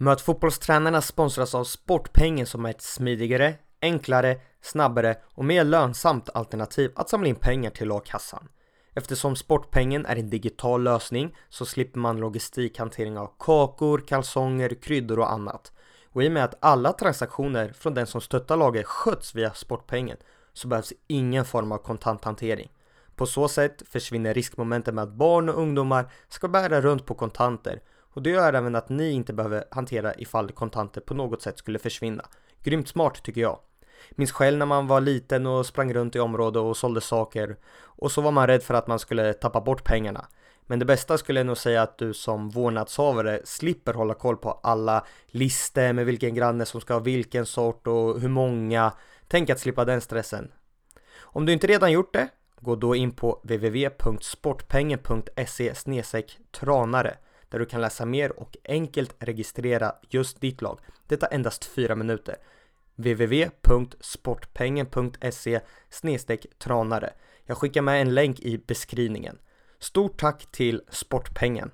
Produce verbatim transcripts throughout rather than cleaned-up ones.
Möt fotbollstränarna sponsras av Sportpengen som är ett smidigare, enklare, snabbare och mer lönsamt alternativ att samla in pengar till a-kassan. Eftersom Sportpengen är en digital lösning så slipper man logistikhantering av kakor, kalsonger, kryddor och annat. Och i och med att alla transaktioner från den som stöttar laget sköts via Sportpengen så behövs ingen form av kontanthantering. På så sätt försvinner riskmomentet med att barn och ungdomar ska bära runt på kontanter. Och det gör även att ni inte behöver hantera ifall kontanter på något sätt skulle försvinna. Grymt smart tycker jag. Minns själv när man var liten och sprang runt i området och sålde saker. Och så var man rädd för att man skulle tappa bort pengarna. Men det bästa skulle jag nog säga att du som vårdnadshavare slipper hålla koll på alla listor med vilken granne som ska ha vilken sort och hur många. Tänk att slippa den stressen. Om du inte redan gjort det, gå då in på w w w punkt sportpengen punkt se slash tranare. Där du kan läsa mer och enkelt registrera just ditt lag. Detta endast fyra minuter. w w w punkt sportpengen punkt se slash tranare. Jag skickar med en länk i beskrivningen. Stort tack till Sportpengen.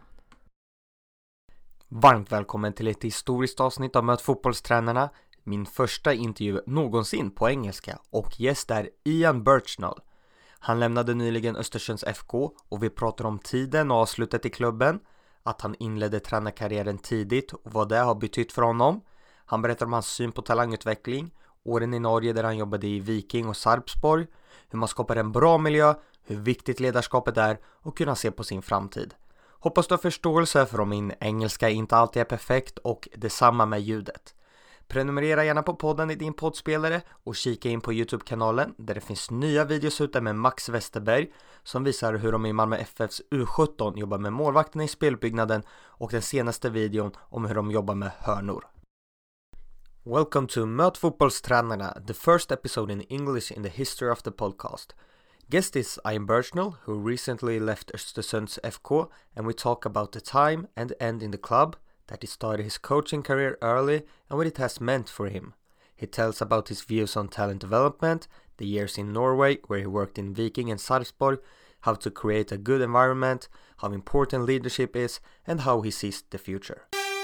Varmt välkommen till ett historiskt avsnitt av Möt fotbollstränarna. Min första intervju någonsin på engelska och gäst är Ian Birchnall. Han lämnade nyligen Östersunds F K och vi pratar om tiden och avslutet i klubben. Att han inledde tränarkarriären tidigt och vad det har betytt för honom. Han berättar om hans syn på talangutveckling, åren i Norge där han jobbade i Viking och Sarpsborg, hur man skapar en bra miljö, hur viktigt ledarskapet är och kunna se på sin framtid. Hoppas du har förståelse för om min engelska inte alltid är perfekt och detsamma med ljudet. Prenumerera gärna på podden i din poddspelare och kika in på YouTube-kanalen där det finns nya videos ute med Max Westerberg som visar hur de i Malmö F F:s U sjutton jobbar med målvakterna i spelbyggnaden och den senaste videon om hur de jobbar med hörnor. Welcome to Möt fotbollstränarna, the first episode in English in the history of the podcast. Guest is Ian Birchnall, who recently left Östersunds F K, and we talk about the time and end in the club, that he started his coaching career early and what it has meant for him. He tells about his views on talent development, the years in Norway where he worked in Viking and Sarpsborg, how to create a good environment, how important leadership is, and how he sees the future.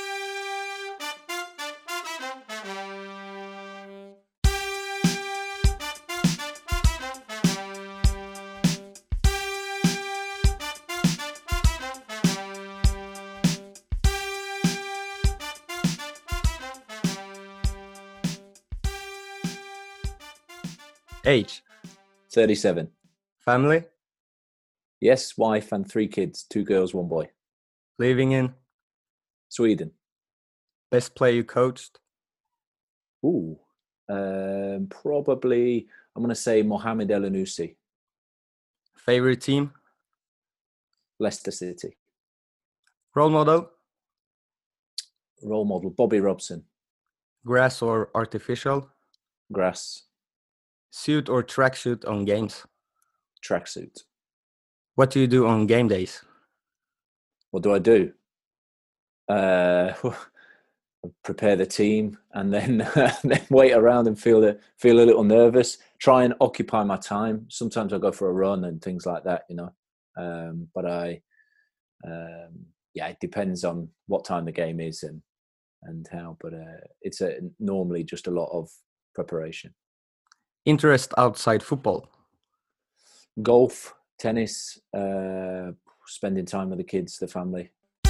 Age? thirty-seven. Family? Yes, wife and three kids, two girls, one boy. Living in? Sweden. Best player you coached? Ooh, um, probably, I'm going to say Mohamed Elyounoussi. Favorite team? Leicester City. Role model? Role model, Bobby Robson. Grass or artificial? Grass. Suit or tracksuit on games? Tracksuit. What do you do on game days? What do I do? Uh, prepare the team and then then wait around and feel the, feel a little nervous. Try and occupy my time. Sometimes I go for a run and things like that, you know. Um, but I, um, yeah, it depends on what time the game is and and how. But uh, it's a, normally just a lot of preparation. Interest outside football? Golf, tennis, uh, spending time with the kids, the family.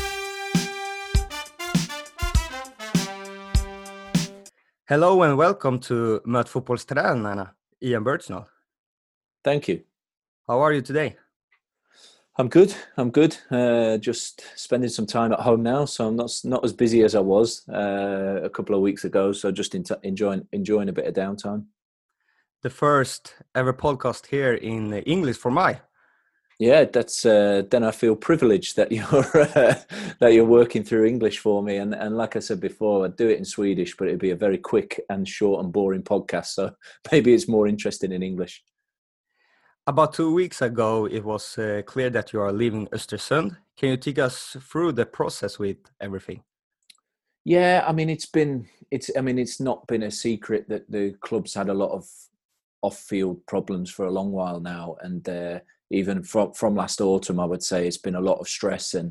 Hello and welcome to Möt fotbollstränarna, Ian Birchnall. Thank you. How are you today? I'm good. I'm good. Uh, just spending some time at home now, so I'm not not as busy as I was uh, a couple of weeks ago. So just in enjoying enjoying a bit of downtime. The first ever podcast here in English for me. Yeah, that's uh, then I feel privileged that you're uh, that you're working through English for me, and and like I said before, I'd do it in Swedish, but it'd be a very quick and short and boring podcast. So maybe it's more interesting in English. About two weeks ago, it was uh, clear that you are leaving Östersund. Can you take us through the process with everything? Yeah, I mean it's been it's I mean it's not been a secret that the club's had a lot of off-field problems for a long while now, and uh, even from from last autumn, I would say it's been a lot of stress and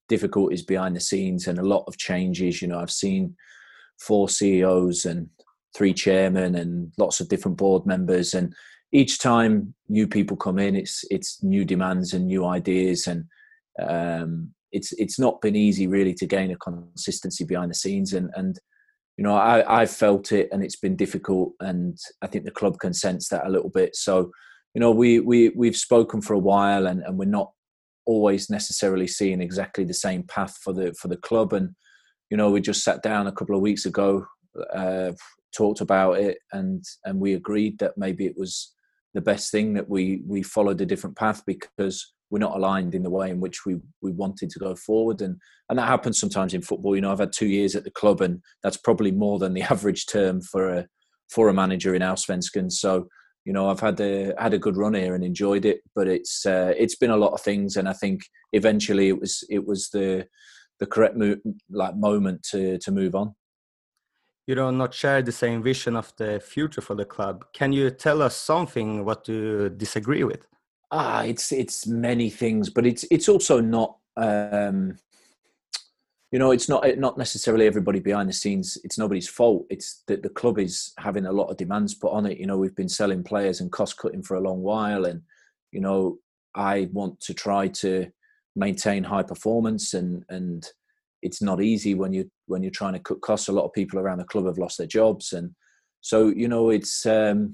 difficulties behind the scenes and a lot of changes. You know, I've seen four C E Os and three chairmen and lots of different board members, and each time new people come in, it's it's new demands and new ideas, and um, it's it's not been easy really to gain a consistency behind the scenes, and and you know I I've felt it, and it's been difficult, and I think the club can sense that a little bit. So you know we we we've spoken for a while, and, and we're not always necessarily seeing exactly the same path for the for the club, and you know we just sat down a couple of weeks ago, uh, talked about it, and and we agreed that maybe it was the best thing that we we followed a different path, because we're not aligned in the way in which we we wanted to go forward, and and that happens sometimes in football. You know, I've had two years at the club, and that's probably more than the average term for a for a manager in Allsvenskan. So you know, I've had a had a good run here and enjoyed it, but it's uh, it's been a lot of things, and I think eventually it was it was the the correct mo- like moment to to move on. You do not share the same vision of the future for the club. Can you tell us something what you disagree with? Ah, it's it's many things, but it's it's also not. Um, you know, it's not not necessarily everybody behind the scenes. It's nobody's fault. It's that the club is having a lot of demands put on it. You know, we've been selling players and cost cutting for a long while, and you know, I want to try to maintain high performance, and and it's not easy when you when you're trying to cut costs. A lot of people around the club have lost their jobs, and so you know, it's. Um,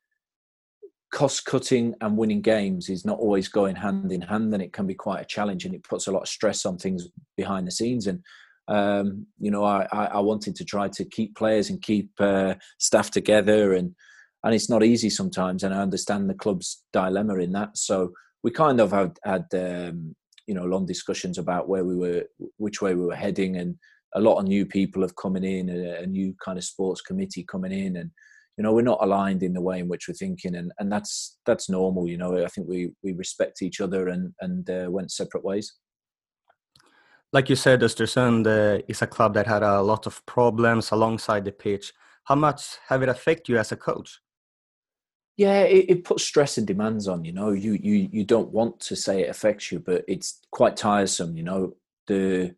cost cutting and winning games is not always going hand in hand, and it can be quite a challenge, and it puts a lot of stress on things behind the scenes. And um, you know, I, I wanted to try to keep players and keep uh, staff together, and and it's not easy sometimes. And I understand the club's dilemma in that. So we kind of had had um, you know long discussions about where we were, which way we were heading, and a lot of new people have coming in, a, a new kind of sports committee coming in, and you know, we're not aligned in the way in which we're thinking, and, and that's that's normal. You know, I think we we respect each other, and and uh, went separate ways. Like you said, Östersund uh, is a club that had a lot of problems alongside the pitch. How much have it affected you as a coach? Yeah, it, it puts stress and demands on. You know, you you you don't want to say it affects you, but it's quite tiresome. You know, the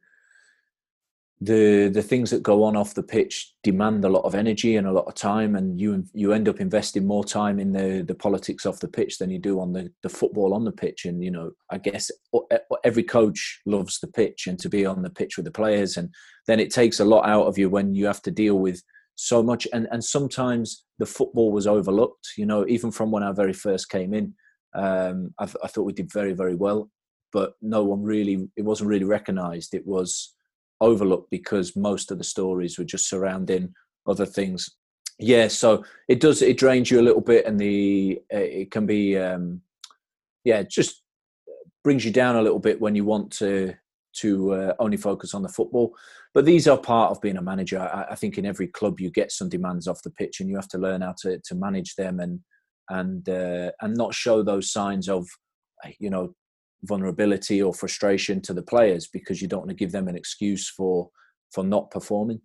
the the things that go on off the pitch demand a lot of energy and a lot of time, and you you end up investing more time in the the politics off the pitch than you do on the the football on the pitch. And you know, I guess every coach loves the pitch and to be on the pitch with the players, and then it takes a lot out of you when you have to deal with so much. And and sometimes the football was overlooked. You know, even from when I very first came in, um, I, I thought we did very very well, but no one really, it wasn't really recognised. It was overlooked because most of the stories were just surrounding other things. Yeah, so it does, it drains you a little bit, and the it can be um yeah, it just brings you down a little bit when you want to to uh, only focus on the football. But these are part of being a manager. I, I think in every club you get some demands off the pitch, and you have to learn how to to manage them, and and uh, and not show those signs of you know vulnerability or frustration to the players, because you don't want to give them an excuse for for not performing.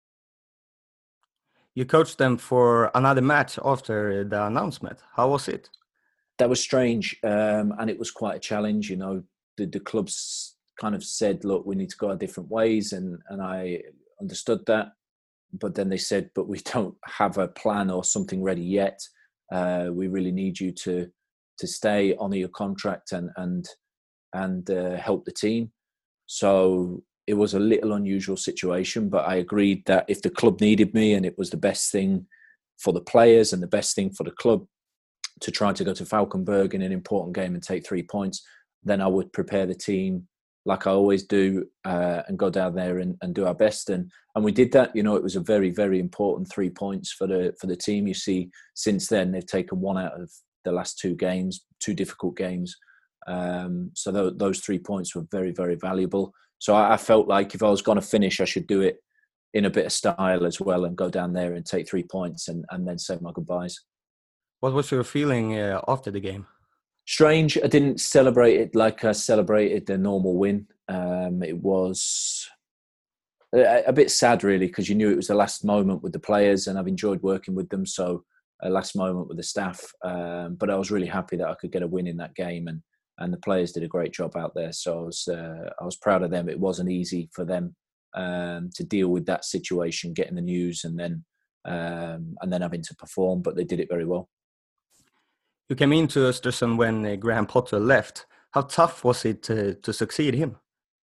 You coached them for another match after the announcement. How was it? That was strange, um, and it was quite a challenge. You know, the, the clubs kind of said, look, we need to go our different ways, and and I understood that, but then they said, but we don't have a plan or something ready yet. Uh, we really need you to to stay, honour your contract, and and and uh, help the team. So it was a little unusual situation, but I agreed that if the club needed me and it was the best thing for the players and the best thing for the club to try to go to Falkenberg in an important game and take three points, then I would prepare the team like I always do, uh, and go down there and, and do our best. And and we did that. You know, it was a very, very important three points for the for the team. You see, since then they've taken one out of the last two games, two difficult games. Um, so th- those three points were very, very valuable. So I, I felt like if I was going to finish, I should do it in a bit of style as well, and go down there and take three points, and, and then say my goodbyes. What was your feeling uh, after the game? Strange. I didn't celebrate it like I celebrated the normal win. Um, it was a, a bit sad, really, because you knew it was the last moment with the players, and I've enjoyed working with them. So a last moment with the staff. Um, but I was really happy that I could get a win in that game, and and the players did a great job out there. So I was uh, I was proud of them. It wasn't easy for them um, to deal with that situation, getting the news, and then um, and then having to perform, but they did it very well. You came into Östersund when uh, Graham Potter left. How tough was it to, to succeed him?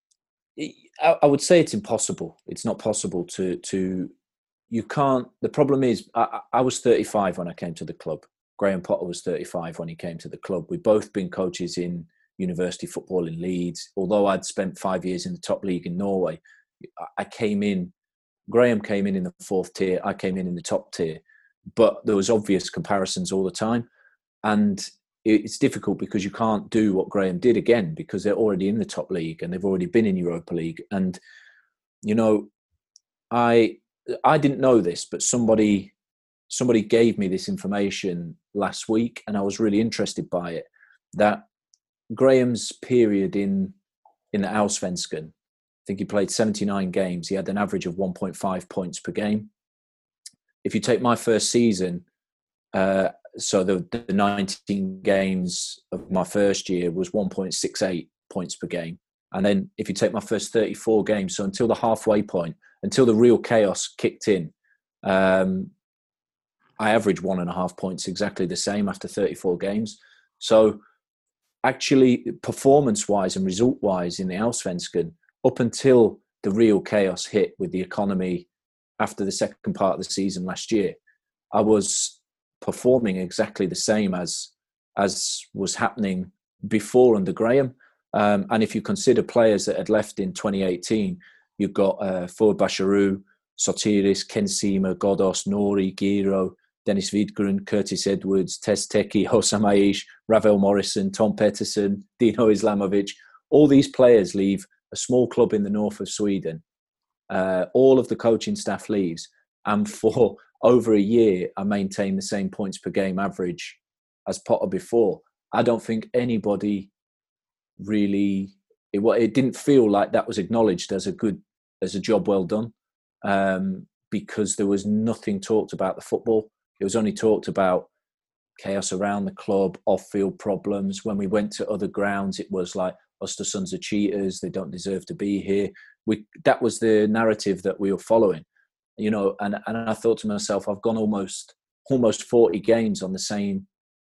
I, I would say it's impossible. It's not possible to to. You can't. The problem is, I, I was thirty-five when I came to the club. Graham Potter was thirty-five when he came to the club. We've both been coaches in university football in Leeds. Although I'd spent five years in the top league in Norway, I came in. Graham came in in the fourth tier. I came in in the top tier. But there was obvious comparisons all the time, and it's difficult because you can't do what Graham did again because they're already in the top league and they've already been in Europa League. And you know, I I didn't know this, but somebody somebody gave me this information last week, and I was really interested by it. That Graham's period in in the Allsvenskan, I think he played seventy-nine games. He had an average of one point five points per game. If you take my first season, uh, so the, the nineteen games of my first year was one point six eight points per game. And then if you take my first thirty-four games, so until the halfway point, until the real chaos kicked in, um, I averaged one and a half points, exactly the same after thirty-four games. So actually, performance-wise and result-wise in the Allsvenskan, up until the real chaos hit with the economy after the second part of the season last year, I was performing exactly the same as as was happening before under Graham. Um, and if you consider players that had left in twenty eighteen, you've got uh, Ford Basharu, Sotiris, Ken Sema, Godos, Nori, Giro, Dennis Vidgren, Curtis Edwards, Tez Teki, Hossam Aish, Ravel Morrison, Tom Pettersson, Dino Islamovic. All these players leave a small club in the north of Sweden. Uh, all of the coaching staff leaves. And for over a year, I maintained the same points per game average as Potter before. I don't think anybody really, it, it didn't feel like that was acknowledged as a good, as a job well done, um, because there was nothing talked about the football. It was only talked about chaos around the club, off-field problems. When we went to other grounds, it was like, Östersunds are cheaters, they don't deserve to be here. We, that was the narrative that we were following, you know, and, and I thought to myself, I've gone almost almost forty games on the same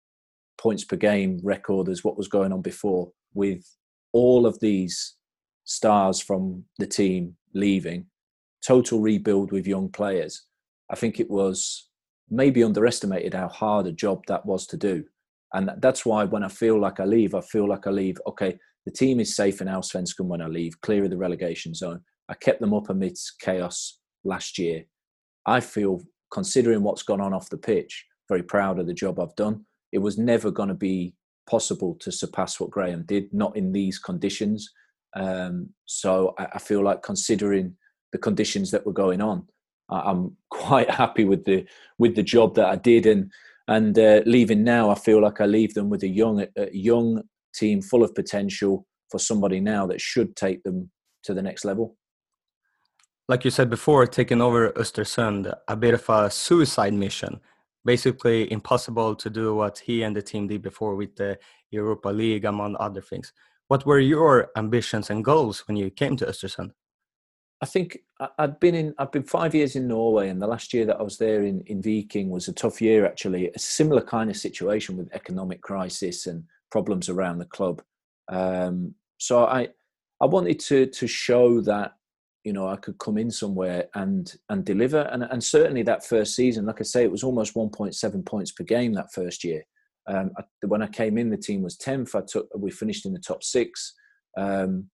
points per game record as what was going on before, with all of these stars from the team leaving, total rebuild with young players. I think it was maybe underestimated how hard a job that was to do. And that's why when I feel like I leave, I feel like I leave, okay, the team is safe in Allsvenskan when I leave, clear of the relegation zone. I kept them up amidst chaos last year. I feel, considering what's gone on off the pitch, very proud of the job I've done. It was never going to be possible to surpass what Graham did, not in these conditions. Um, so I, I feel like, considering the conditions that were going on, I, I'm quite happy with the with the job that I did. And and uh, leaving now, I feel like I leave them with a young a young team full of potential for somebody now that should take them to the next level. Like you said before, taking over Östersund, a bit of a suicide mission. Basically impossible to do what he and the team did before with the Europa League, among other things. What were your ambitions and goals when you came to Östersund? I think I'd been in, I've been five years in Norway, and the last year that I was there in, in Viking was a tough year, actually. A similar kind of situation with economic crisis and problems around the club. Um, so I, I wanted to to show that, you know, I could come in somewhere and and deliver. And, and certainly that first season, like I say, it was almost one point seven points per game that first year. Um, I, when I came in, the team was tenth. I took, we finished in the top six. Um,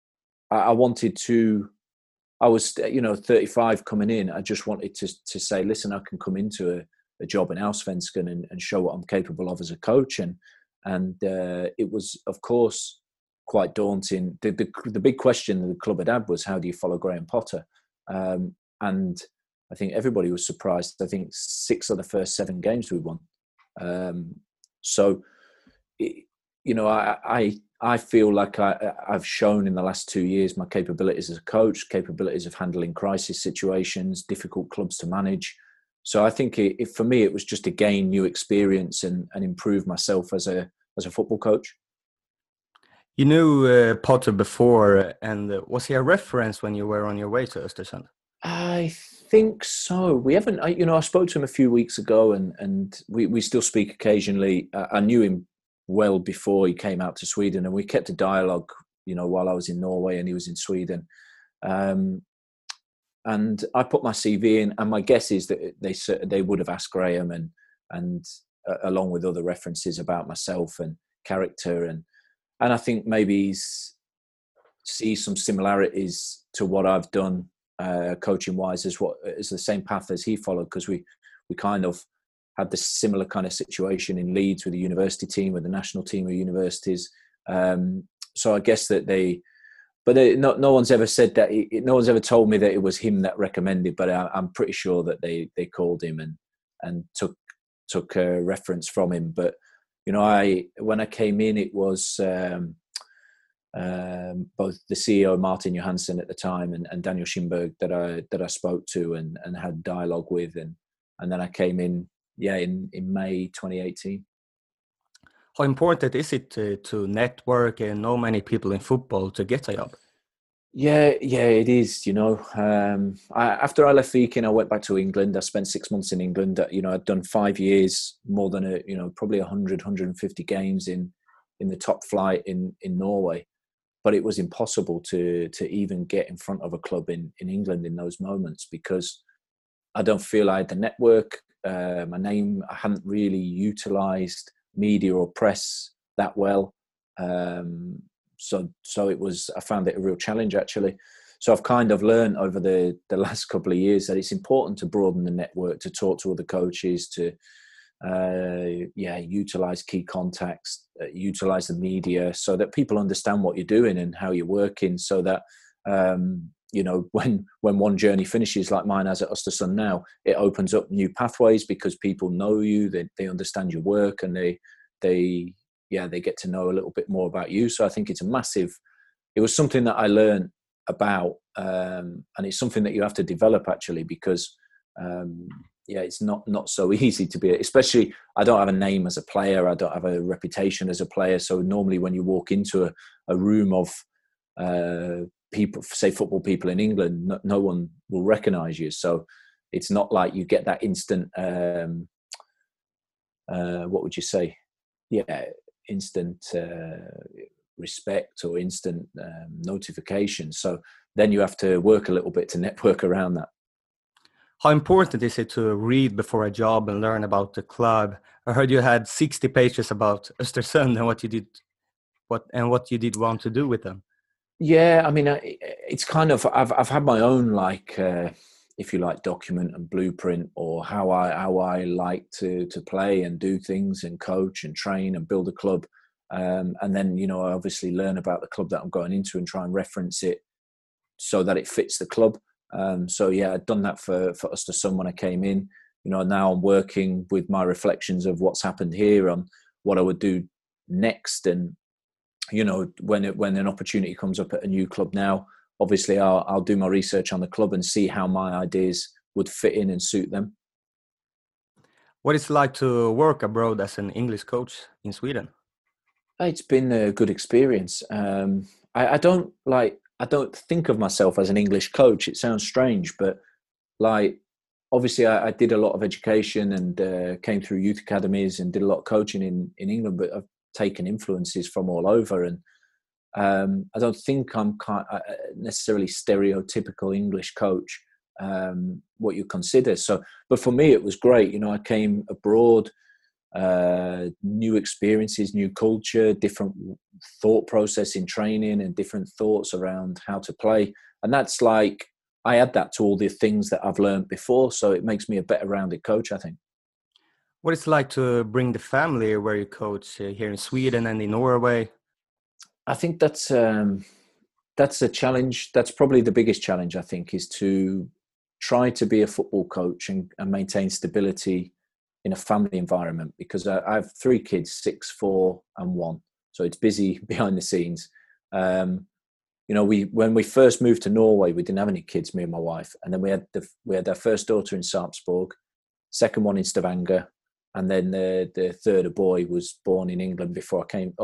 I, I wanted to, I was, you know, thirty-five coming in. I just wanted to to say, listen, I can come into a, a job in Allsvenskan and, and show what I'm capable of as a coach. And and uh, it was, of course, quite daunting. The, the the big question that the club had had was, how do you follow Graham Potter? Um, and I think everybody was surprised. I think six of the first seven games we won. Um, so, it, you know, I, I I feel like I, I've shown in the last two years my capabilities as a coach, capabilities of handling crisis situations, difficult clubs to manage. So I think it, it, for me, it was just to gain new experience and, and improve myself as a as a football coach. You knew uh, Potter before, and uh, was he a reference when you were on your way to Östersund? I think so. We haven't, I, you know, I spoke to him a few weeks ago, and and we we still speak occasionally. Uh, I knew him well before he came out to Sweden, and we kept a dialogue, you know, while I was in Norway and he was in Sweden. Um, and I put my C V in, and my guess is that they they would have asked Graham and and uh, along with other references about myself and character, and and I think maybe he's sees some similarities to what I've done uh, coaching wise as what is the same path as he followed, because we we kind of had this similar kind of situation in Leeds with the university team, with the national team of universities. Um, so I guess that they, but they, no, no one's ever said that. He, no one's ever told me that it was him that recommended. But I, I'm pretty sure that they they called him and and took took a reference from him. But you know, I when I came in, it was. Um, um, both the C E O Martin Johansson at the time and, and Daniel Schimberg that I that I spoke to and, and had dialogue with, and and then I came in, yeah, in, in May twenty eighteen. How important is it to, to network and know many people in football to get a job? Yeah, yeah, it is. You know, um, I, after I left Viking, I went back to England. I spent six months in England. You know, I'd done five years, more than a, you know, probably one hundred, one hundred fifty games in in the top flight in in Norway. But it was impossible to to even get in front of a club in, in England in those moments, because I don't feel I had the network. Uh, my name, I hadn't really utilised media or press that well. Um, so so it was, I found it a real challenge actually. So I've kind of learned over the, the last couple of years that it's important to broaden the network, to talk to other coaches, to uh, yeah, utilize key contacts, uh, utilize the media, so that people understand what you're doing and how you're working, so that um, you know, when when one journey finishes, like mine has at Östersund now, it opens up new pathways because people know you, they they understand your work, and they they yeah they get to know a little bit more about you. So I think it's a massive. It was something that I learned about, um, and it's something that you have to develop actually, because. Um, yeah, it's not not so easy to be, especially I don't have a name as a player, I don't have a reputation as a player, so normally when you walk into a, a room of uh, people, say football people in England, no, no one will recognise you, so it's not like you get that instant um, uh, what would you say, yeah, instant uh, respect or instant um, notification, so then you have to work a little bit to network around that. How important is it to read before a job and learn about the club? I heard you had sixty pages about Östersund and what you did, what and what you did want to do with them. Yeah, I mean, it's kind of I've I've had my own, like, uh, if you like, document and blueprint, or how I how I like to to play and do things and coach and train and build a club, um, and then you know I obviously learn about the club that I'm going into and try and reference it so that it fits the club. Um, so yeah, I'd done that for for Östersund when I came in. You know, now I'm working with my reflections of what's happened here on what I would do next, and you know, when it, when an opportunity comes up at a new club now, obviously I'll, I'll do my research on the club and see how my ideas would fit in and suit them. What it's like to work abroad as an English coach in Sweden? It's been a good experience. Um, I, I don't like, I don't think of myself as an English coach. It sounds strange, but like, obviously I, I did a lot of education and uh, came through youth academies and did a lot of coaching in, in England, but I've taken influences from all over. And Um, I don't think I'm necessarily stereotypical English coach, um, what you consider. So, but for me, it was great. You know, I came abroad, uh, new experiences, new culture, different thought process in training, and different thoughts around how to play. And that's like, I add that to all the things that I've learned before. So it makes me a better rounded coach, I think. What it's like to bring the family where you coach uh, here in Sweden and in Norway? I think that's um, that's a challenge. That's probably the biggest challenge, I think, is to try to be a football coach and, and maintain stability in a family environment, because I, I have three kids, six, four, and one. So it's busy behind the scenes. Um, you know, we when we first moved to Norway, we didn't have any kids, me and my wife, and then we had the we had our first daughter in Sarpsborg, second one in Stavanger, and then the the third boy was born in England before I came, or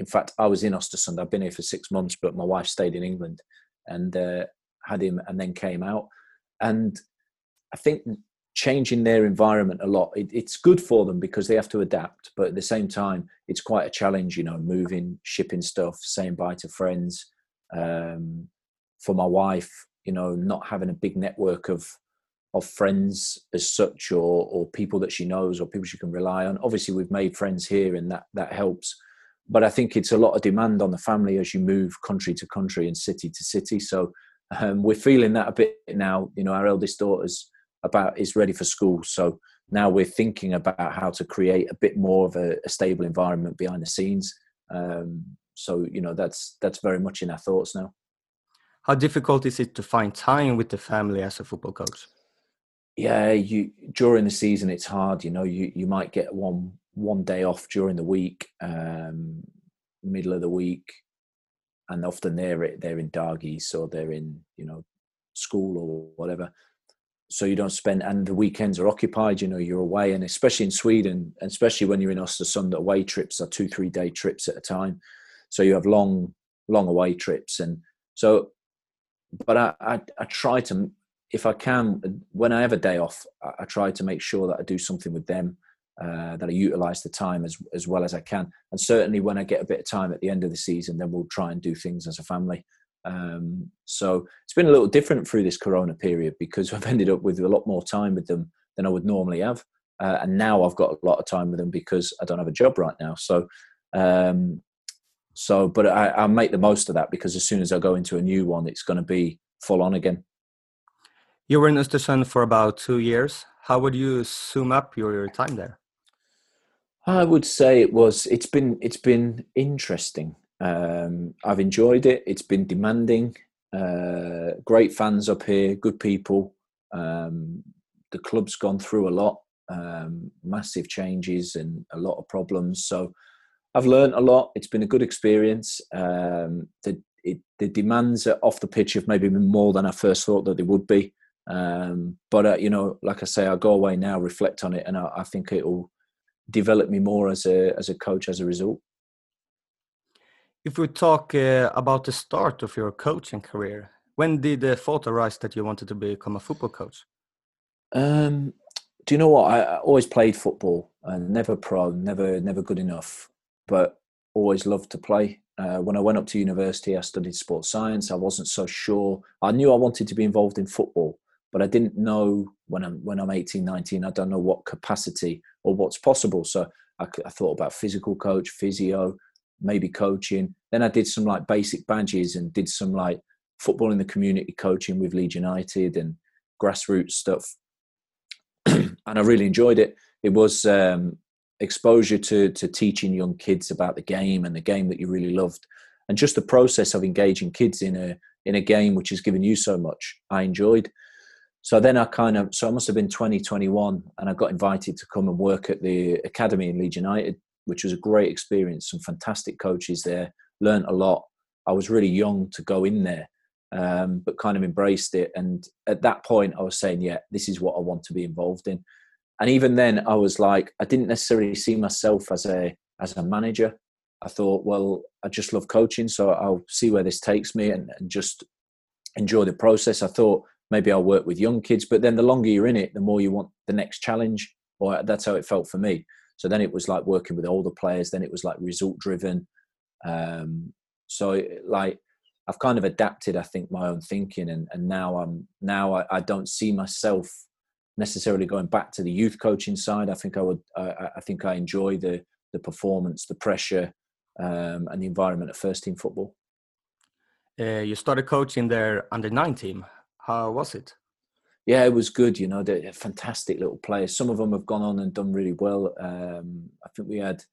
in fact, I was in Östersund. I've been here for six months, but my wife stayed in England and uh, had him, and then came out. And I think changing their environment a lot, it, it's good for them because they have to adapt. But at the same time, it's quite a challenge, you know, moving, shipping stuff, saying bye to friends. Um, for my wife, you know, not having a big network of of friends as such, or or people that she knows, or people she can rely on. Obviously, we've made friends here, and that that helps. But I think it's a lot of demand on the family as you move country to country and city to city. So um, we're feeling that a bit now. You know, our eldest daughter's about is ready for school, so now we're thinking about how to create a bit more of a, a stable environment behind the scenes. Um, so you know, that's that's very much in our thoughts now. How difficult is it to find time with the family as a football coach? Yeah, you during the season it's hard. You know, you you might get one one day off during the week, um, middle of the week, and often they're they're in Dargis or they're in, you know, school or whatever. So you don't spend, and the weekends are occupied. You know, you're away, and especially in Sweden, and especially when you're in Östersund, away trips are two three day trips at a time. So you have long long away trips, and so. But I I, I try to. If I can, when I have a day off, I try to make sure that I do something with them, uh, that I utilise the time as as well as I can. And certainly when I get a bit of time at the end of the season, then we'll try and do things as a family. Um, so it's been a little different through this Corona period because I've ended up with a lot more time with them than I would normally have. Uh, and now I've got a lot of time with them because I don't have a job right now. So, um, so but I, I make the most of that because as soon as I go into a new one, it's going to be full on again. You were in Östersund for about two years. How would you sum up your, your time there? I would say it was. It's been. It's been interesting. Um, I've enjoyed it. It's been demanding. Uh, great fans up here. Good people. Um, the club's gone through a lot. Um, massive changes and a lot of problems. So I've learned a lot. It's been a good experience. Um, the it, the demands off the pitch have maybe been more than I first thought that they would be. Um, but uh, you know, like I say, I go away now, reflect on it, and I, I think it will develop me more as a as a coach as a result. If we talk uh, about the start of your coaching career, when did the thought arise that you wanted to become a football coach? Um, do you know what? I, I always played football, and never pro, never never good enough, but always loved to play. Uh, when I went up to university, I studied sports science. I wasn't so sure. I knew I wanted to be involved in football, but I didn't know when I'm when I'm eighteen, nineteen, I don't know what capacity or what's possible. So I, I thought about physical coach, physio, maybe coaching. Then I did some like basic badges and did some like football in the community coaching with Leeds United and grassroots stuff. And I really enjoyed it. It was um, exposure to to teaching young kids about the game and the game that you really loved. And just the process of engaging kids in a in a game which has given you so much, I enjoyed. So then I kind of, so I must have been twenty, twenty-one, and I got invited to come and work at the academy in Leeds United, which was a great experience. Some fantastic coaches there, learned a lot. I was really young to go in there, um, but kind of embraced it. And at that point I was saying, yeah, this is what I want to be involved in. And even then I was like, I didn't necessarily see myself as a, as a manager. I thought, well, I just love coaching, so I'll see where this takes me and, and just enjoy the process. I thought, maybe I'll work with young kids, but then the longer you're in it, the more you want the next challenge, or that's how it felt for me. So then it was like working with older players. Then it was like result driven. Um, so like I've kind of adapted, I think, my own thinking, and, and now I'm now I, I don't see myself necessarily going back to the youth coaching side. I think I would. I, I think I enjoy the the performance, the pressure, um, and the environment of first team football. Uh, you started coaching their under nine team. How was it? Yeah, it was good. You know, they're fantastic little players. Some of them have gone on and done really well. Um, I think we had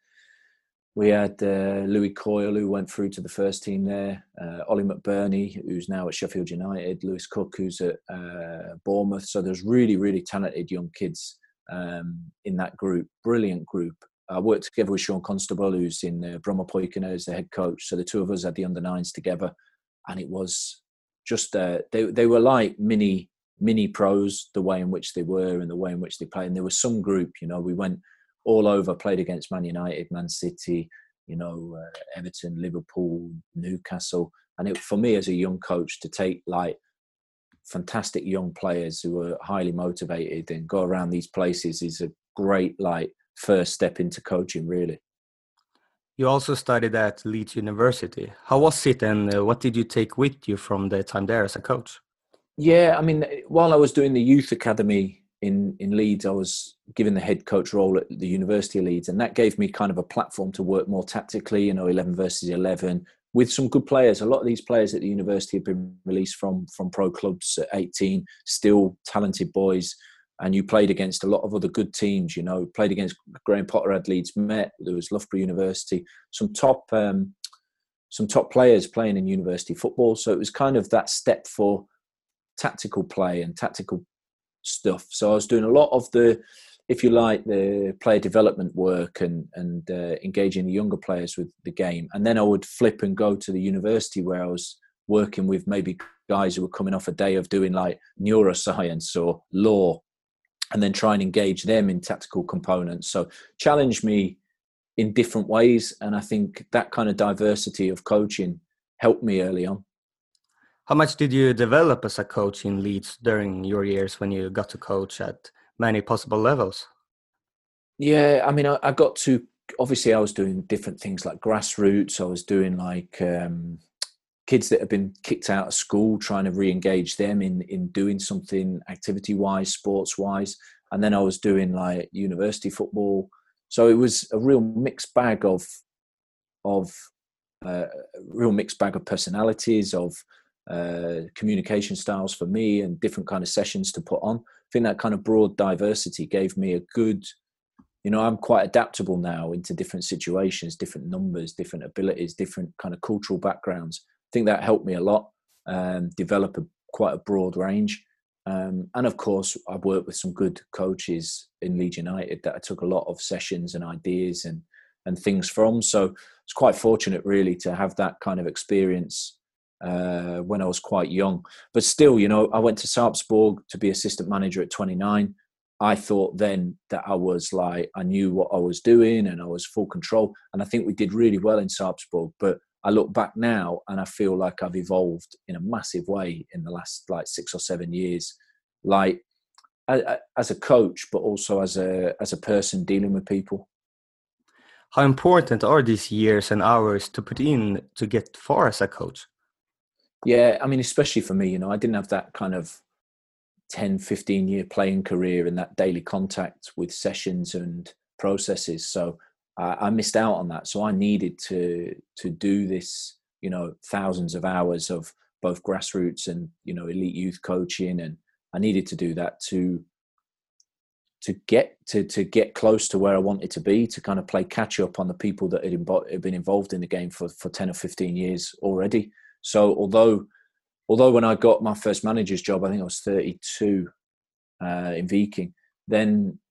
we had uh, Louis Coyle, who went through to the first team there. Uh, Ollie McBurney, who's now at Sheffield United. Lewis Cook, who's at uh, Bournemouth. So there's really, really talented young kids um, in that group. Brilliant group. I worked together with Sean Constable, who's in uh, Bromma as the head coach. So the two of us had the under nines together, and it was just uh, they they were like mini mini pros, the way in which they were and the way in which they played. And there was some group, you know, we went all over, played against Man United, Man City, you know, uh, Everton, Liverpool, Newcastle. And it, for me as a young coach, to take like fantastic young players who are highly motivated and go around these places is a great like first step into coaching, really. You also studied at Leeds University. How was it, and uh, what did you take with you from the time there as a coach? Yeah, I mean, while I was doing the youth academy in, in Leeds, I was given the head coach role at the University of Leeds, and that gave me kind of a platform to work more tactically, you know, eleven versus eleven, with some good players. A lot of these players at the university have been released from, from pro clubs at eighteen, still talented boys, and you played against a lot of other good teams, you know, played against Graham Potter had Leeds Met, there was Loughborough University, some top um, some top players playing in university football. So it was kind of that step for tactical play and tactical stuff. So I was doing a lot of the, if you like, the player development work and and uh, engaging the younger players with the game. And then I would flip and go to the university where I was working with maybe guys who were coming off a day of doing like neuroscience or law, and then try and engage them in tactical components. So challenge me in different ways. And I think that kind of diversity of coaching helped me early on. How much did you develop as a coach in Leeds during your years when you got to coach at many possible levels? Yeah, I mean, I, I got to, obviously I was doing different things like grassroots. I was doing like um, kids that have been kicked out of school, trying to re-engage them in, in doing something activity-wise, sports-wise. And then I was doing like university football. So it was a real mixed bag of, of uh, real mixed bag of personalities, of uh, communication styles for me, and different kind of sessions to put on. I think that kind of broad diversity gave me a good, you know, I'm quite adaptable now into different situations, different numbers, different abilities, different kind of cultural backgrounds. I think that helped me a lot, um, develop a, quite a broad range. Um, and of course, I've worked with some good coaches in Leeds United that I took a lot of sessions and ideas and, and things from. So it's quite fortunate really to have that kind of experience uh, when I was quite young. But still, you know, I went to Sarpsborg to be assistant manager at twenty-nine. I thought then that I was like, I knew what I was doing and I was full control. And I think we did really well in Sarpsborg. But I look back now and I feel like I've evolved in a massive way in the last like six or seven years, like as a coach, but also as a as a person dealing with people. How important are these years and hours to put in to get far as a coach? Yeah, I mean, especially for me, you know, I didn't have that kind of ten, fifteen year playing career and that daily contact with sessions and processes. So uh, I missed out on that. So I needed to to do this, you know, thousands of hours of both grassroots and, you know, elite youth coaching. And I needed to do that to to get to to get close to where I wanted to be, to kind of play catch up on the people that had, imbo- had been involved in the game for, for ten or fifteen years already. So although although when I got my first manager's job, I think I was thirty-two uh, in Viking, then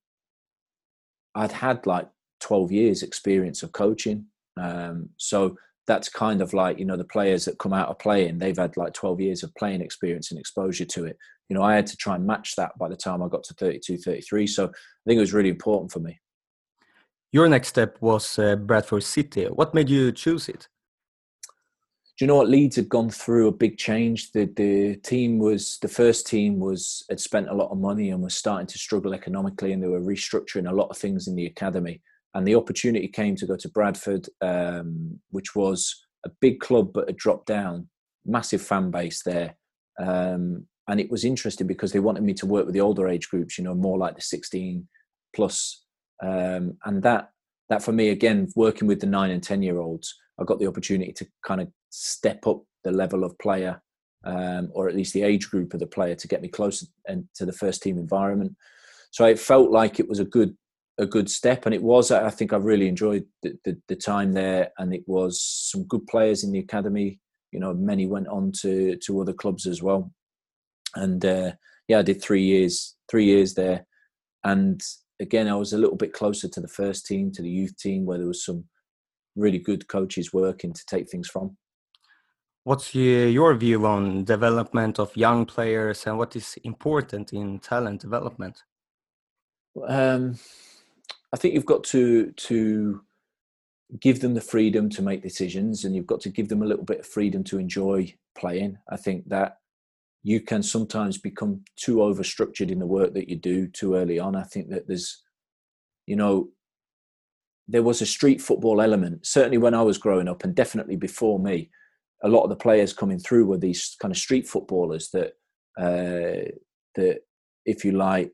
I'd had like twelve years experience of coaching. Um, so that's kind of like, you know, the players that come out of playing, they've had like twelve years of playing experience and exposure to it. You know, I had to try and match that by the time I got to thirty-two, thirty-three. So I think it was really important for me. Your next step was uh, Bradford City. What made you choose it? Do you know what? Leeds had gone through a big change. The the team was, the first team was, had spent a lot of money and was starting to struggle economically, and they were restructuring a lot of things in the academy. And the opportunity came to go to Bradford, um, which was a big club but had dropped down, massive fan base there. Um, and it was interesting because they wanted me to work with the older age groups, you know, more like the sixteen plus. Um, and that that for me, again, working with the nine and ten year olds, I got the opportunity to kind of step up the level of player, um, or at least the age group of the player, to get me closer and to the first team environment. So it felt like it was a good a good step, and it was. I think I really enjoyed the, the, the time there, and it was some good players in the academy. You know, many went on to to other clubs as well, and uh, yeah, I did three years three years there, and again, I was a little bit closer to the first team, to the youth team, where there was some really good coaches working to take things from. What's your view on development of young players and what is important in talent development? Um, I think you've got to to give them the freedom to make decisions, and you've got to give them a little bit of freedom to enjoy playing. I think that you can sometimes become too overstructured in the work that you do too early on. I think that there's, you know, there was a street football element, certainly when I was growing up, and definitely before me. A lot of the players coming through were these kind of street footballers that, uh, that, if you like,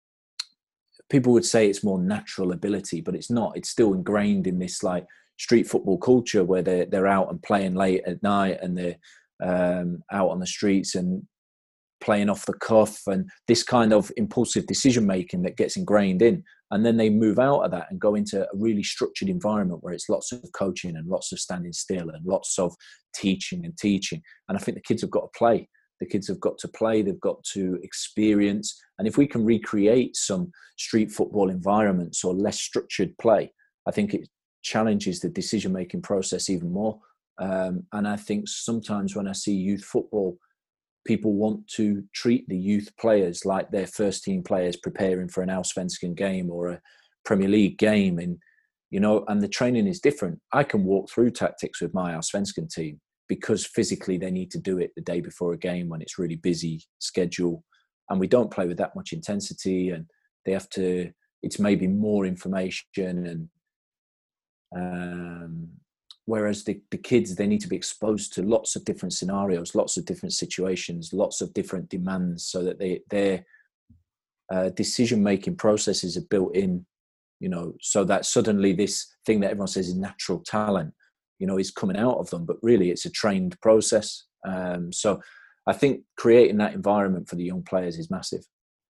people would say it's more natural ability, but it's not. It's still ingrained in this like street football culture where they're they're out and playing late at night, and they're um, out on the streets and playing off the cuff, and this kind of impulsive decision making that gets ingrained in. And then they move out of that and go into a really structured environment where it's lots of coaching and lots of standing still and lots of teaching and teaching. And I think the kids have got to play. The kids have got to play. They've got to experience. And if we can recreate some street football environments or less structured play, I think it challenges the decision-making process even more. Um, and I think sometimes when I see youth football, people want to treat the youth players like they're first team players preparing for an Allsvenskan game or a Premier League game. And, you know, and the training is different. I can walk through tactics with my Allsvenskan team because physically they need to do it the day before a game when it's really busy schedule. And we don't play with that much intensity, and they have to, it's maybe more information. And, um, Whereas the, the kids, they need to be exposed to lots of different scenarios, lots of different situations, lots of different demands, so that they, their uh, decision-making processes are built in, you know, so that suddenly this thing that everyone says is natural talent, you know, is coming out of them. But really, it's a trained process. Um, so I think creating that environment for the young players is massive.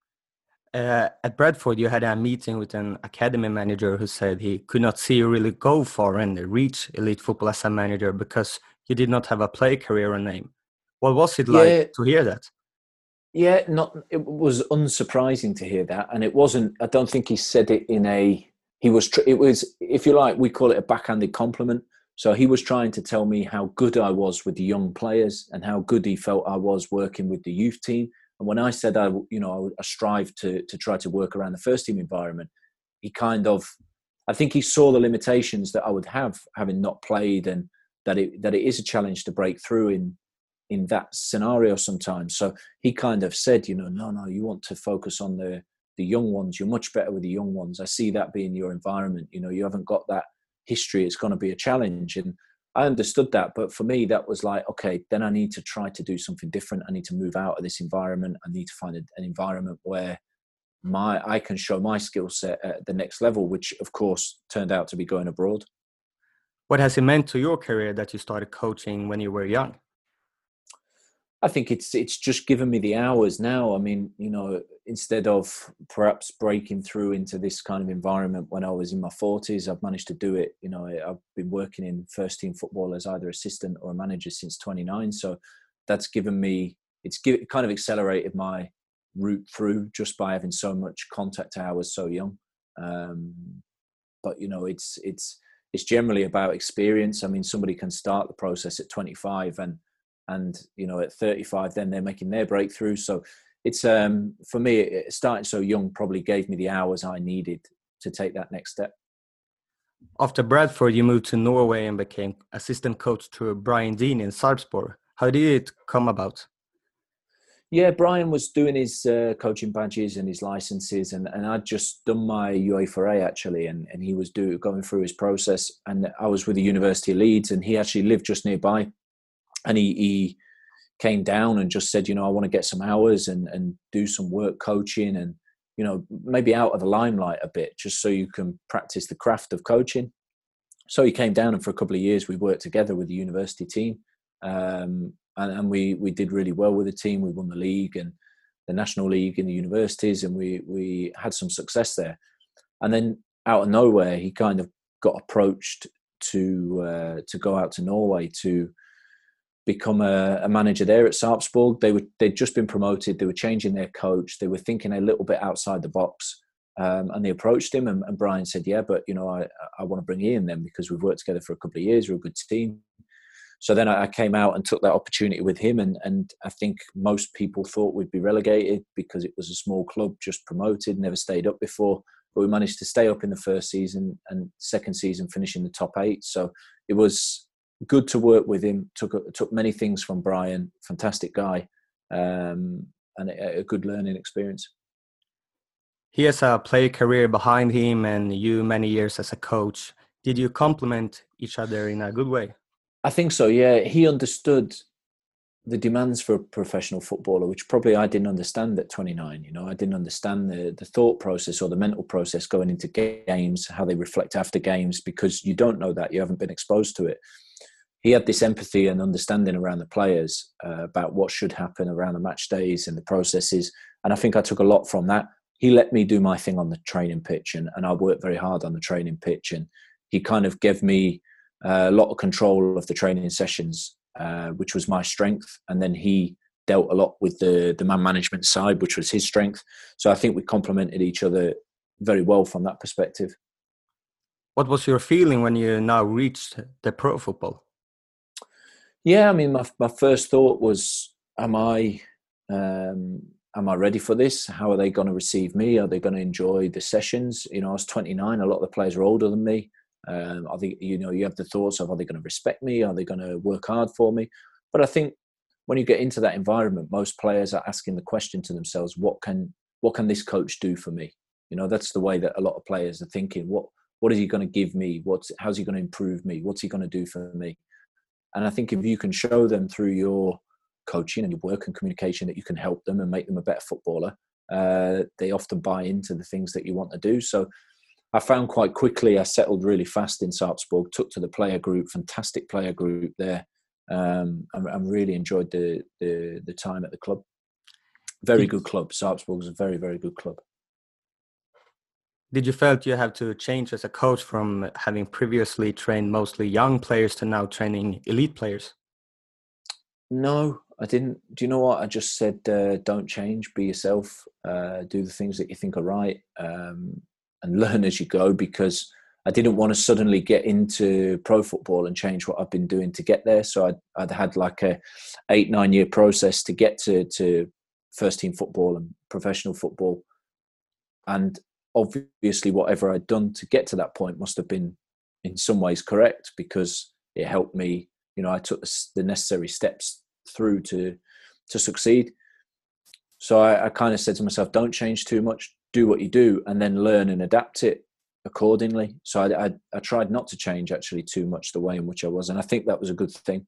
Uh, at Bradford, you had a meeting with an academy manager who said he could not see you really go far and reach elite football as a manager because you did not have a play career or name. What was it like yeah, to hear that? Yeah, not. It was unsurprising to hear that, and it wasn't. I don't think he said it in a. He was. It was, if you like, we call it a backhanded compliment. So he was trying to tell me how good I was with the young players and how good he felt I was working with the youth team. And when I said I, you know, I strive to to try to work around the first team environment, he kind of, I think he saw the limitations that I would have having not played, and that it that it is a challenge to break through in in that scenario sometimes. So he kind of said, you know, no, no, you want to focus on the the young ones. You're much better with the young ones. I see that being your environment. You know, you haven't got that history. It's going to be a challenge. And I understood that. But for me, that was like, okay, then I need to try to do something different. I need to move out of this environment. I need to find a, an environment where my I can show my skill set at the next level, which of course turned out to be going abroad. What has it meant to your career that you started coaching when you were young? I think it's it's just given me the hours now. I mean, you know, instead of perhaps breaking through into this kind of environment when I was in my forties, I've managed to do it. You know, I've been working in first team football as either assistant or a manager since twenty-nine. So that's given me, it's give, kind of accelerated my route through just by having so much contact hours so young. Um, but, you know, it's, it's, it's generally about experience. I mean, somebody can start the process at twenty-five and, And, you know, at thirty-five, then they're making their breakthrough. So it's, um, for me, starting so young probably gave me the hours I needed to take that next step. After Bradford, you moved to Norway and became assistant coach to Brian Deane in Sarpsborg. How did it come about? Yeah, Brian was doing his uh, coaching badges and his licenses, and, and I'd just done my UEFA A actually, and, and he was do, going through his process. And I was with the University of Leeds, and he actually lived just nearby. And he, he came down and just said, you know, I want to get some hours and, and do some work coaching and, you know, maybe out of the limelight a bit, just so you can practice the craft of coaching. So he came down, and for a couple of years we worked together with the university team. Um, and, and we, we did really well with the team. We won the league and the national league in the universities, and we, we had some success there. And then out of nowhere, he kind of got approached to, uh, to go out to Norway to become a, a manager there at Sarpsborg. They were, they'd just been promoted. They were changing their coach. They were thinking a little bit outside the box. Um, and they approached him, and, and Brian said, yeah, but, you know, I, I want to bring Ian then, because we've worked together for a couple of years. We're a good team. So then I came out and took that opportunity with him. And, and I think most people thought we'd be relegated because it was a small club, just promoted, never stayed up before. but we managed to stay up in the first season and second season finishing the top eight. So it was good to work with him. Took took many things from Brian, fantastic guy, um, and a, a good learning experience. He has a player career behind him and you many years as a coach. Did you complement each other in a good way? I think so, yeah. He understood the demands for a professional footballer, which probably I didn't understand at twenty-nine. You know, I didn't understand the, the thought process or the mental process going into games, how they reflect after games, because you don't know that. You haven't been exposed to it. He had this empathy and understanding around the players uh, about what should happen around the match days and the processes. And I think I took a lot from that. He let me do my thing on the training pitch, and, and I worked very hard on the training pitch. And he kind of gave me uh, a lot of control of the training sessions, uh, which was my strength. And then he dealt a lot with the, the man management side, which was his strength. So I think we complemented each other very well from that perspective. What was your feeling when you now reached the pro football? Yeah, I mean, my my first thought was, am I... Um, am I ready for this? How are they going to receive me? Are they going to enjoy the sessions? You know, I was twenty-nine. A lot of the players are older than me. Um, I think, you know, you have the thoughts of, are they going to respect me? Are they going to work hard for me? But I think when you get into that environment, most players are asking the question to themselves, what can, what can this coach do for me? You know, that's the way that a lot of players are thinking. What, what is he going to give me? What's, how's he going to improve me? What's he going to do for me? And I think if you can show them through your coaching and your work and communication that you can help them and make them a better footballer, uh, they often buy into the things that you want to do. So I found quite quickly, I settled really fast in Sarpsborg, took to the player group, fantastic player group there, um, and, and really enjoyed the, the the time at the club. Very good club. Sarpsborg is a very, very good club. Did you felt you have to change as a coach from having previously trained mostly young players to now training elite players? No, I didn't. Do you know what? I just said, uh, don't change, be yourself, uh, do the things that you think are right, um, and learn as you go, because I didn't want to suddenly get into pro football and change what I've been doing to get there. So I'd, I'd had like a eight, nine year process to get to, to first team football and professional football. And obviously whatever I'd done to get to that point must have been in some ways correct, because it helped me. You know, I took the necessary steps through to to succeed. So I, I kind of said to myself, don't change too much, do what you do, and then learn and adapt it accordingly. So I, I, I tried not to change actually too much the way in which I was. And I think that was a good thing.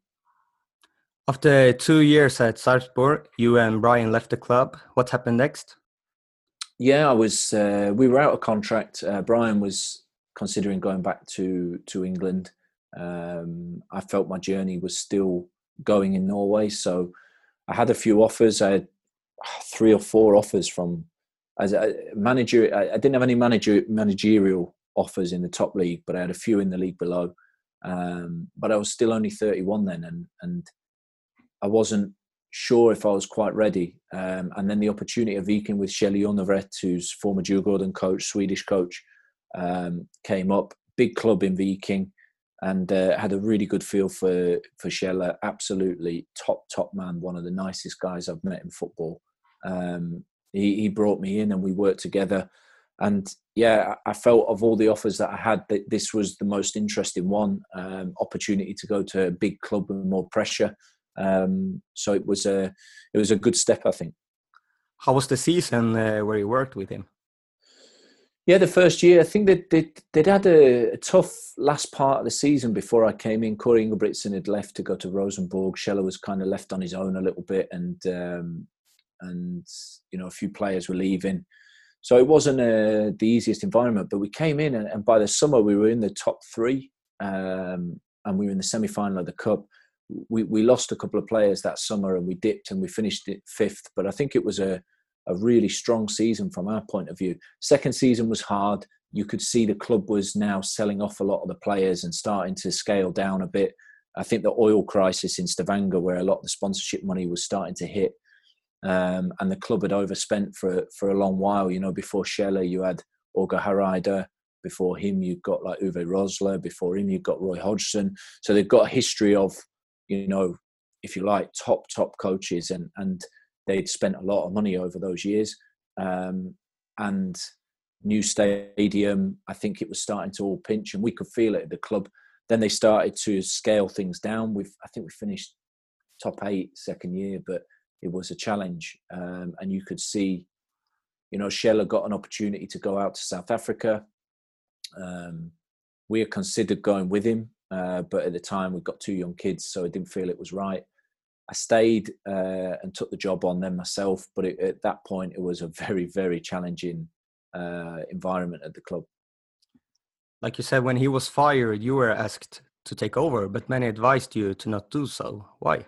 After two years at Sarpsborg, you and Brian left the club. What happened next? Yeah, I was, uh, we were out of contract. Uh, Brian was considering going back to, to England. Um, I felt my journey was still going in Norway, so I had a few offers. I had three or four offers from as a manager. I, I didn't have any manager managerial offers in the top league, but I had a few in the league below. Um, but I was still only thirty-one then, and and I wasn't sure if I was quite ready. Um, and then the opportunity of Viking with Kjell Jonevret, who's former Djurgården coach, Swedish coach, um, came up. Big club in Viking. And uh, had a really good feel for for Kjell. Absolutely top top man, one of the nicest guys I've met in football. Um, he he brought me in and we worked together. And yeah, I felt of all the offers that I had, that this was the most interesting one. Um, opportunity to go to a big club with more pressure. Um, so it was a it was a good step, I think. How was the season uh, where you worked with him? Yeah, the first year, I think that they'd, they'd had a, a tough last part of the season before I came in. Corey Ingebrigtsen had left to go to Rosenborg. Scheller was kind of left on his own a little bit, and um, and you know a few players were leaving, so it wasn't uh, the easiest environment. But we came in, and, and by the summer we were in the top three, um, and we were in the semi-final of the cup. We we lost a couple of players that summer, and we dipped, and we finished it fifth. But I think it was a a really strong season from our point of view. Second season was hard. You could see the club was now selling off a lot of the players and starting to scale down a bit. I think the oil crisis in Stavanger, where a lot of the sponsorship money was starting to hit, um, and the club had overspent for for a long while. You know, before Scheller, you had Åge Hareide. Before him, you've got like Uwe Rosler. Before him, you've got Roy Hodgson. So they've got a history of, you know, if you like, top, top coaches, and and they'd spent a lot of money over those years. Um, and new stadium. I think it was starting to all pinch, and we could feel it at the club. Then they started to scale things down. We've, I think we finished top eight second year, but it was a challenge. Um, and you could see, you know, Scheller got an opportunity to go out to South Africa. Um, we had considered going with him, uh, but at the time we've got two young kids, so I didn't feel it was right. I stayed uh, and took the job on then myself, but it, at that point it was a very, very challenging uh, environment at the club. Like you said, when he was fired, you were asked to take over, but many advised you to not do so. Why?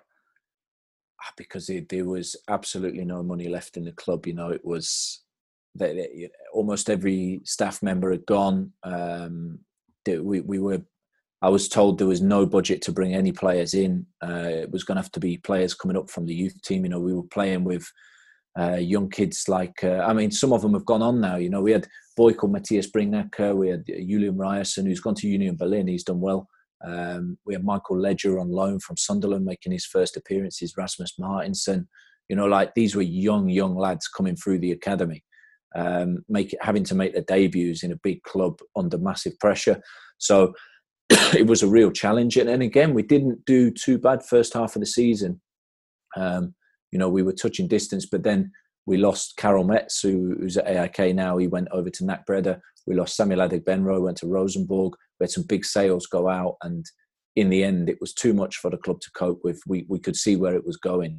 Because it, there was absolutely no money left in the club. You know, it was that almost every staff member had gone. Um, we, we were, I was told there was no budget to bring any players in. Uh, it was going to have to be players coming up from the youth team. You know, we were playing with uh, young kids like, uh, I mean, some of them have gone on now. You know, we had a boy called Matthias Bringnacker. We had Julian Ryerson, who's gone to Union Berlin. He's done well. Um, we had Michael Ledger on loan from Sunderland making his first appearances, Rasmus Martinson. You know, like these were young, young lads coming through the academy, um, make, having to make their debuts in a big club under massive pressure. So it was a real challenge. And, and again, we didn't do too bad first half of the season. Um, you know, we were touching distance, but then we lost Karel Metz, who, who's at A I K now. He went over to N A C Breda. We lost Samuel Adegbenro, went to Rosenborg. We had some big sales go out. And in the end, it was too much for the club to cope with. We we could see where it was going.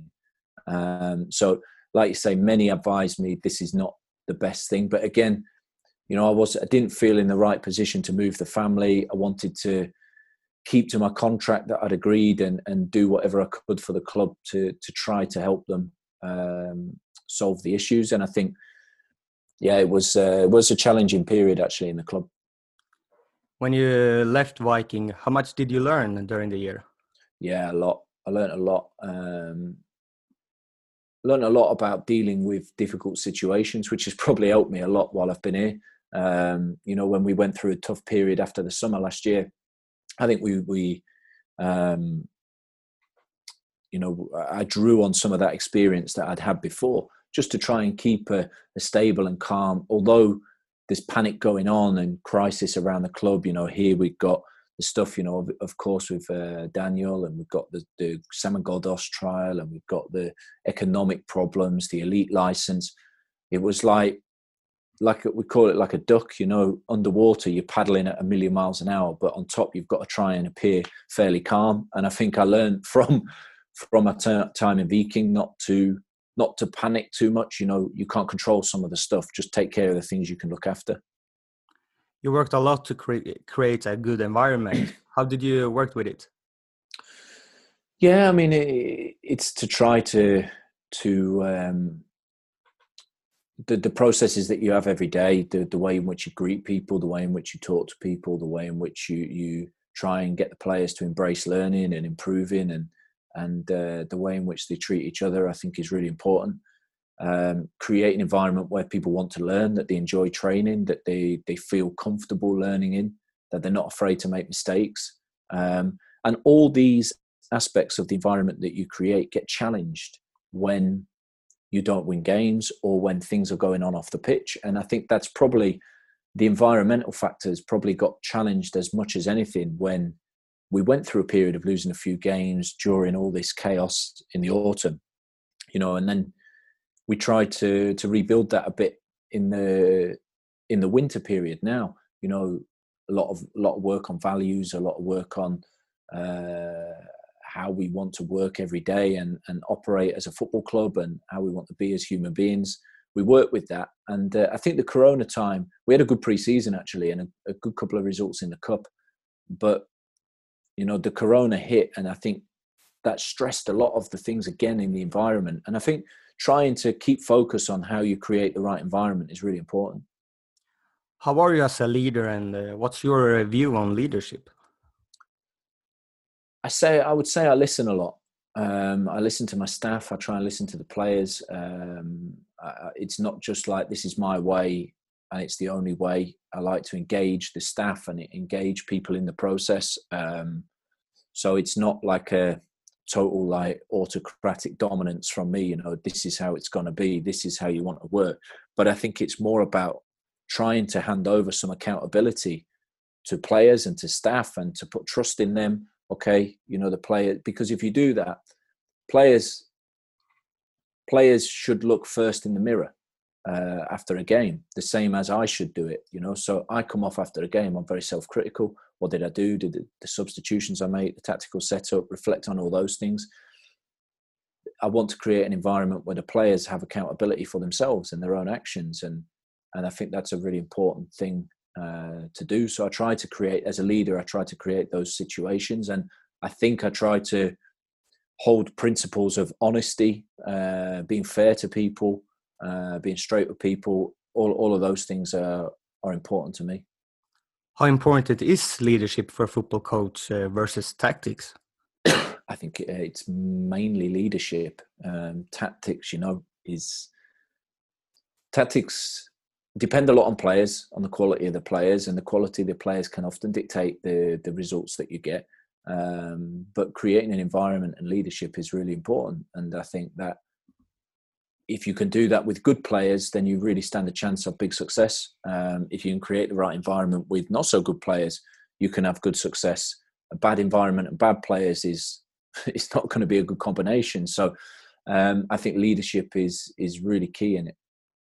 Um, so, like you say, many advised me this is not the best thing. But again, you know, I was I didn't feel in the right position to move the family. I wanted to keep to my contract that I'd agreed and, and do whatever I could for the club to to try to help them um, solve the issues. And I think, yeah, it was uh, it was a challenging period actually in the club. When you left Viking, how much did you learn during the year? Yeah, a lot. I learned a lot. Um, learned a lot about dealing with difficult situations, which has probably helped me a lot while I've been here. Um, you know, when we went through a tough period after the summer last year, I think we, we um, you know, I drew on some of that experience that I'd had before just to try and keep a, a stable and calm, although there's panic going on and crisis around the club. You know, here we've got the stuff, you know, of, of course, with uh, Daniel, and we've got the, the Samuel Ghoddos trial, and we've got the economic problems, the elite license. It was like, like we call it like a duck, you know, underwater, you're paddling at a million miles an hour, but on top, you've got to try and appear fairly calm. And I think I learned from, from my t- time in Viking not to, not to panic too much. You know, you can't control some of the stuff. Just take care of the things you can look after. You worked a lot to create create a good environment. How did you work with it? Yeah, I mean, it, it's to try to to um, the the processes that you have every day, the the way in which you greet people, the way in which you talk to people, the way in which you you try and get the players to embrace learning and improving, and and uh, the way in which they treat each other, I think, is really important. Um, create an environment where people want to learn, that they enjoy training, that they they feel comfortable learning in, that they're not afraid to make mistakes. Um, and all these aspects of the environment that you create get challenged when you don't win games or when things are going on off the pitch. And I think that's probably the environmental factors probably got challenged as much as anything when we went through a period of losing a few games during all this chaos in the autumn, you know, and then we tried to to rebuild that a bit in the in the winter period. Now, you know, a lot of a lot of work on values, a lot of work on uh, how we want to work every day and and operate as a football club, and how we want to be as human beings. We work with that, and uh, I think the Corona time, we had a good pre-season actually, and a, a good couple of results in the cup. But you know, the Corona hit, and I think that stressed a lot of the things again in the environment. And I think trying to keep focus on how you create the right environment is really important. How are you as a leader, and uh, what's your view on leadership? I say, I would say I listen a lot. Um, I listen to my staff. I try and listen to the players. Um, I, it's not just like, this is my way and it's the only way. I like to engage the staff and engage people in the process. Um, so it's not like a total like autocratic dominance from me, you know, this is how it's going to be, this is how you want to work. But I think it's more about trying to hand over some accountability to players and to staff and to put trust in them. Okay, you know, the player, because if you do that, players players should look first in the mirror uh, after a game, the same as I should do it, you know. So I come off after a game, I'm very self-critical. What did I do? Did the, the substitutions I made, the tactical setup, reflect on all those things. I want to create an environment where the players have accountability for themselves and their own actions. And, and I think that's a really important thing uh, to do. So I try to create, as a leader, I try to create those situations. And I think I try to hold principles of honesty, uh, being fair to people, uh, being straight with people. All, all of those things are, are important to me. How important is leadership for a football coach uh, versus tactics? I think it's mainly leadership. Um, tactics, you know, is tactics depend a lot on players, on the quality of the players, and the quality of the players can often dictate the the results that you get. Um, but creating an environment and leadership is really important, and I think that if you can do that with good players, then you really stand a chance of big success. Um, if you can create the right environment with not so good players, you can have good success. A bad environment and bad players is it's not going to be a good combination. So um, I think leadership is is really key in it.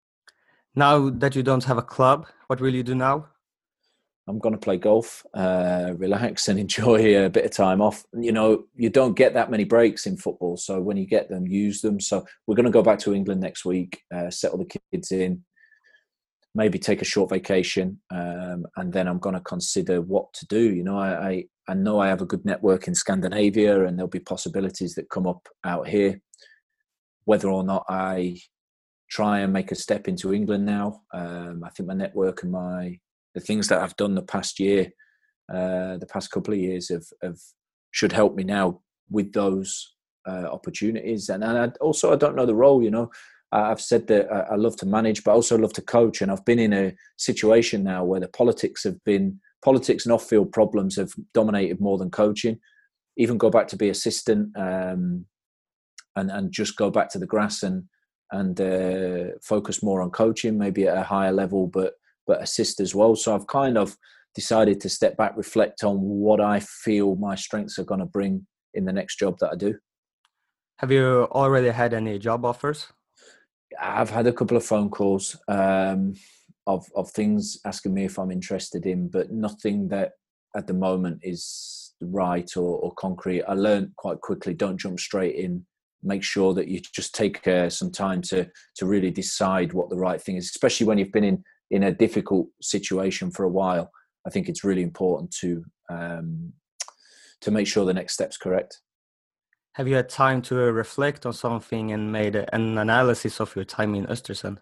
Now that you don't have a club, what will you do now? I'm going to play golf, uh, relax and enjoy a bit of time off. You know, you don't get that many breaks in football. So when you get them, use them. So we're going to go back to England next week, uh, settle the kids in, maybe take a short vacation. Um, and then I'm going to consider what to do. You know, I, I, I know I have a good network in Scandinavia and there'll be possibilities that come up out here. Whether or not I try and make a step into England now, um, I think my network and my the things that I've done the past year, uh, the past couple of years have, have should help me now with those uh, opportunities. And, and I, also, I don't know the role, you know. I've said that I love to manage, but I also love to coach. And I've been in a situation now where the politics have been, politics and off-field problems have dominated more than coaching. Even go back to be assistant um, and, and just go back to the grass and, and uh, focus more on coaching, maybe at a higher level, but but assist as well. So I've kind of decided to step back, reflect on what I feel my strengths are going to bring in the next job that I do. Have you already had any job offers? I've had a couple of phone calls um, of, of things asking me if I'm interested in, but nothing that at the moment is right or, or concrete. I learned quite quickly, don't jump straight in. Make sure that you just take uh, some time to to really decide what the right thing is, especially when you've been in in a difficult situation for a while. I think it's really important to um, to make sure the next step's correct. Have you had time to reflect on something and made an analysis of your time in Östersund?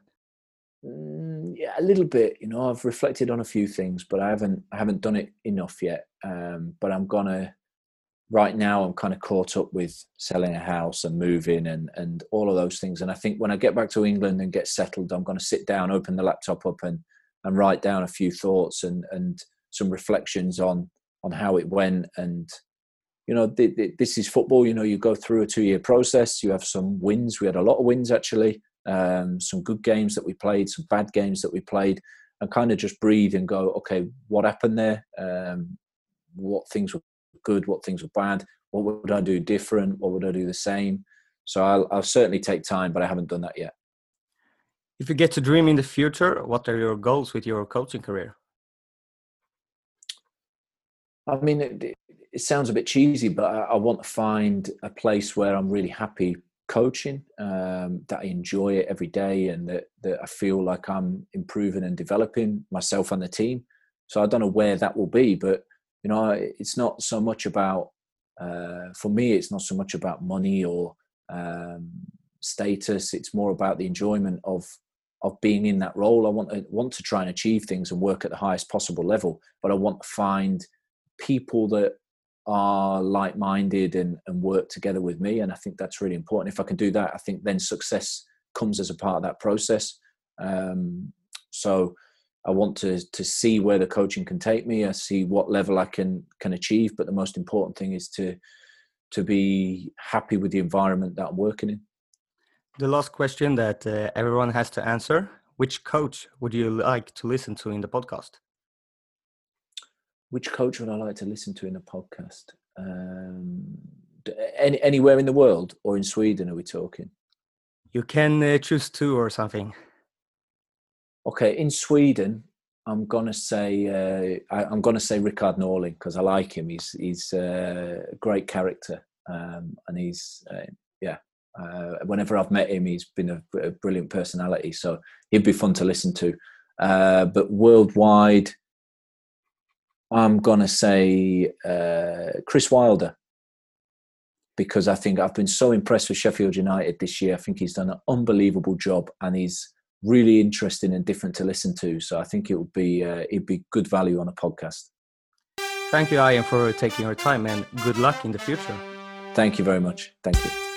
Mm, yeah, a little bit. You know, I've reflected on a few things, but I haven't I haven't done it enough yet. Um, but I'm gonna. Right now, I'm kind of caught up with selling a house and moving and, and all of those things. And I think when I get back to England and get settled, I'm going to sit down, open the laptop up and, and write down a few thoughts and, and some reflections on, on how it went. And, you know, th- th- this is football. You know, you go through a two-year process. You have some wins. We had a lot of wins, actually. Um, some good games that we played, some bad games that we played, and kind of just breathe and go, okay, what happened there? Um, what things were good, what things were bad, what would I do different, what would I do the same. So I'll, I'll certainly take time, but I haven't done that yet. If you get to dream in the future, what are your goals with your coaching career? I mean, it, it sounds a bit cheesy, but I, I want to find a place where I'm really happy coaching, um, that I enjoy it every day and that, that I feel like I'm improving and developing myself and the team. So I don't know where that will be, but you know, it's not so much about, uh, for me, it's not so much about money or um, status. It's more about the enjoyment of of being in that role. I want to, want to try and achieve things and work at the highest possible level, but I want to find people that are like-minded and, and work together with me. And I think that's really important. If I can do that, I think then success comes as a part of that process. Um, so I want to to see where the coaching can take me. I see what level I can can achieve. But the most important thing is to to be happy with the environment that I'm working in. The last question that uh, everyone has to answer. which coach would you like to listen to in the podcast? Which coach would I like to listen to in a podcast? Um, any, anywhere in the world, or in Sweden are we talking? You can uh, choose two or something. Okay, in Sweden, I'm gonna say uh, I, I'm gonna say Rickard Norling, because I like him. He's he's uh, a great character, um, and he's uh, yeah. Uh, whenever I've met him, he's been a, a brilliant personality. So he'd be fun to listen to. Uh, but worldwide, I'm gonna say uh, Chris Wilder, because I think I've been so impressed with Sheffield United this year. I think he's done an unbelievable job, and he's really interesting and different to listen to. So I think it would be uh, it'd be good value on a podcast. Thank you, Ian, for taking your time, and good luck in the future. Thank you very much. Thank you.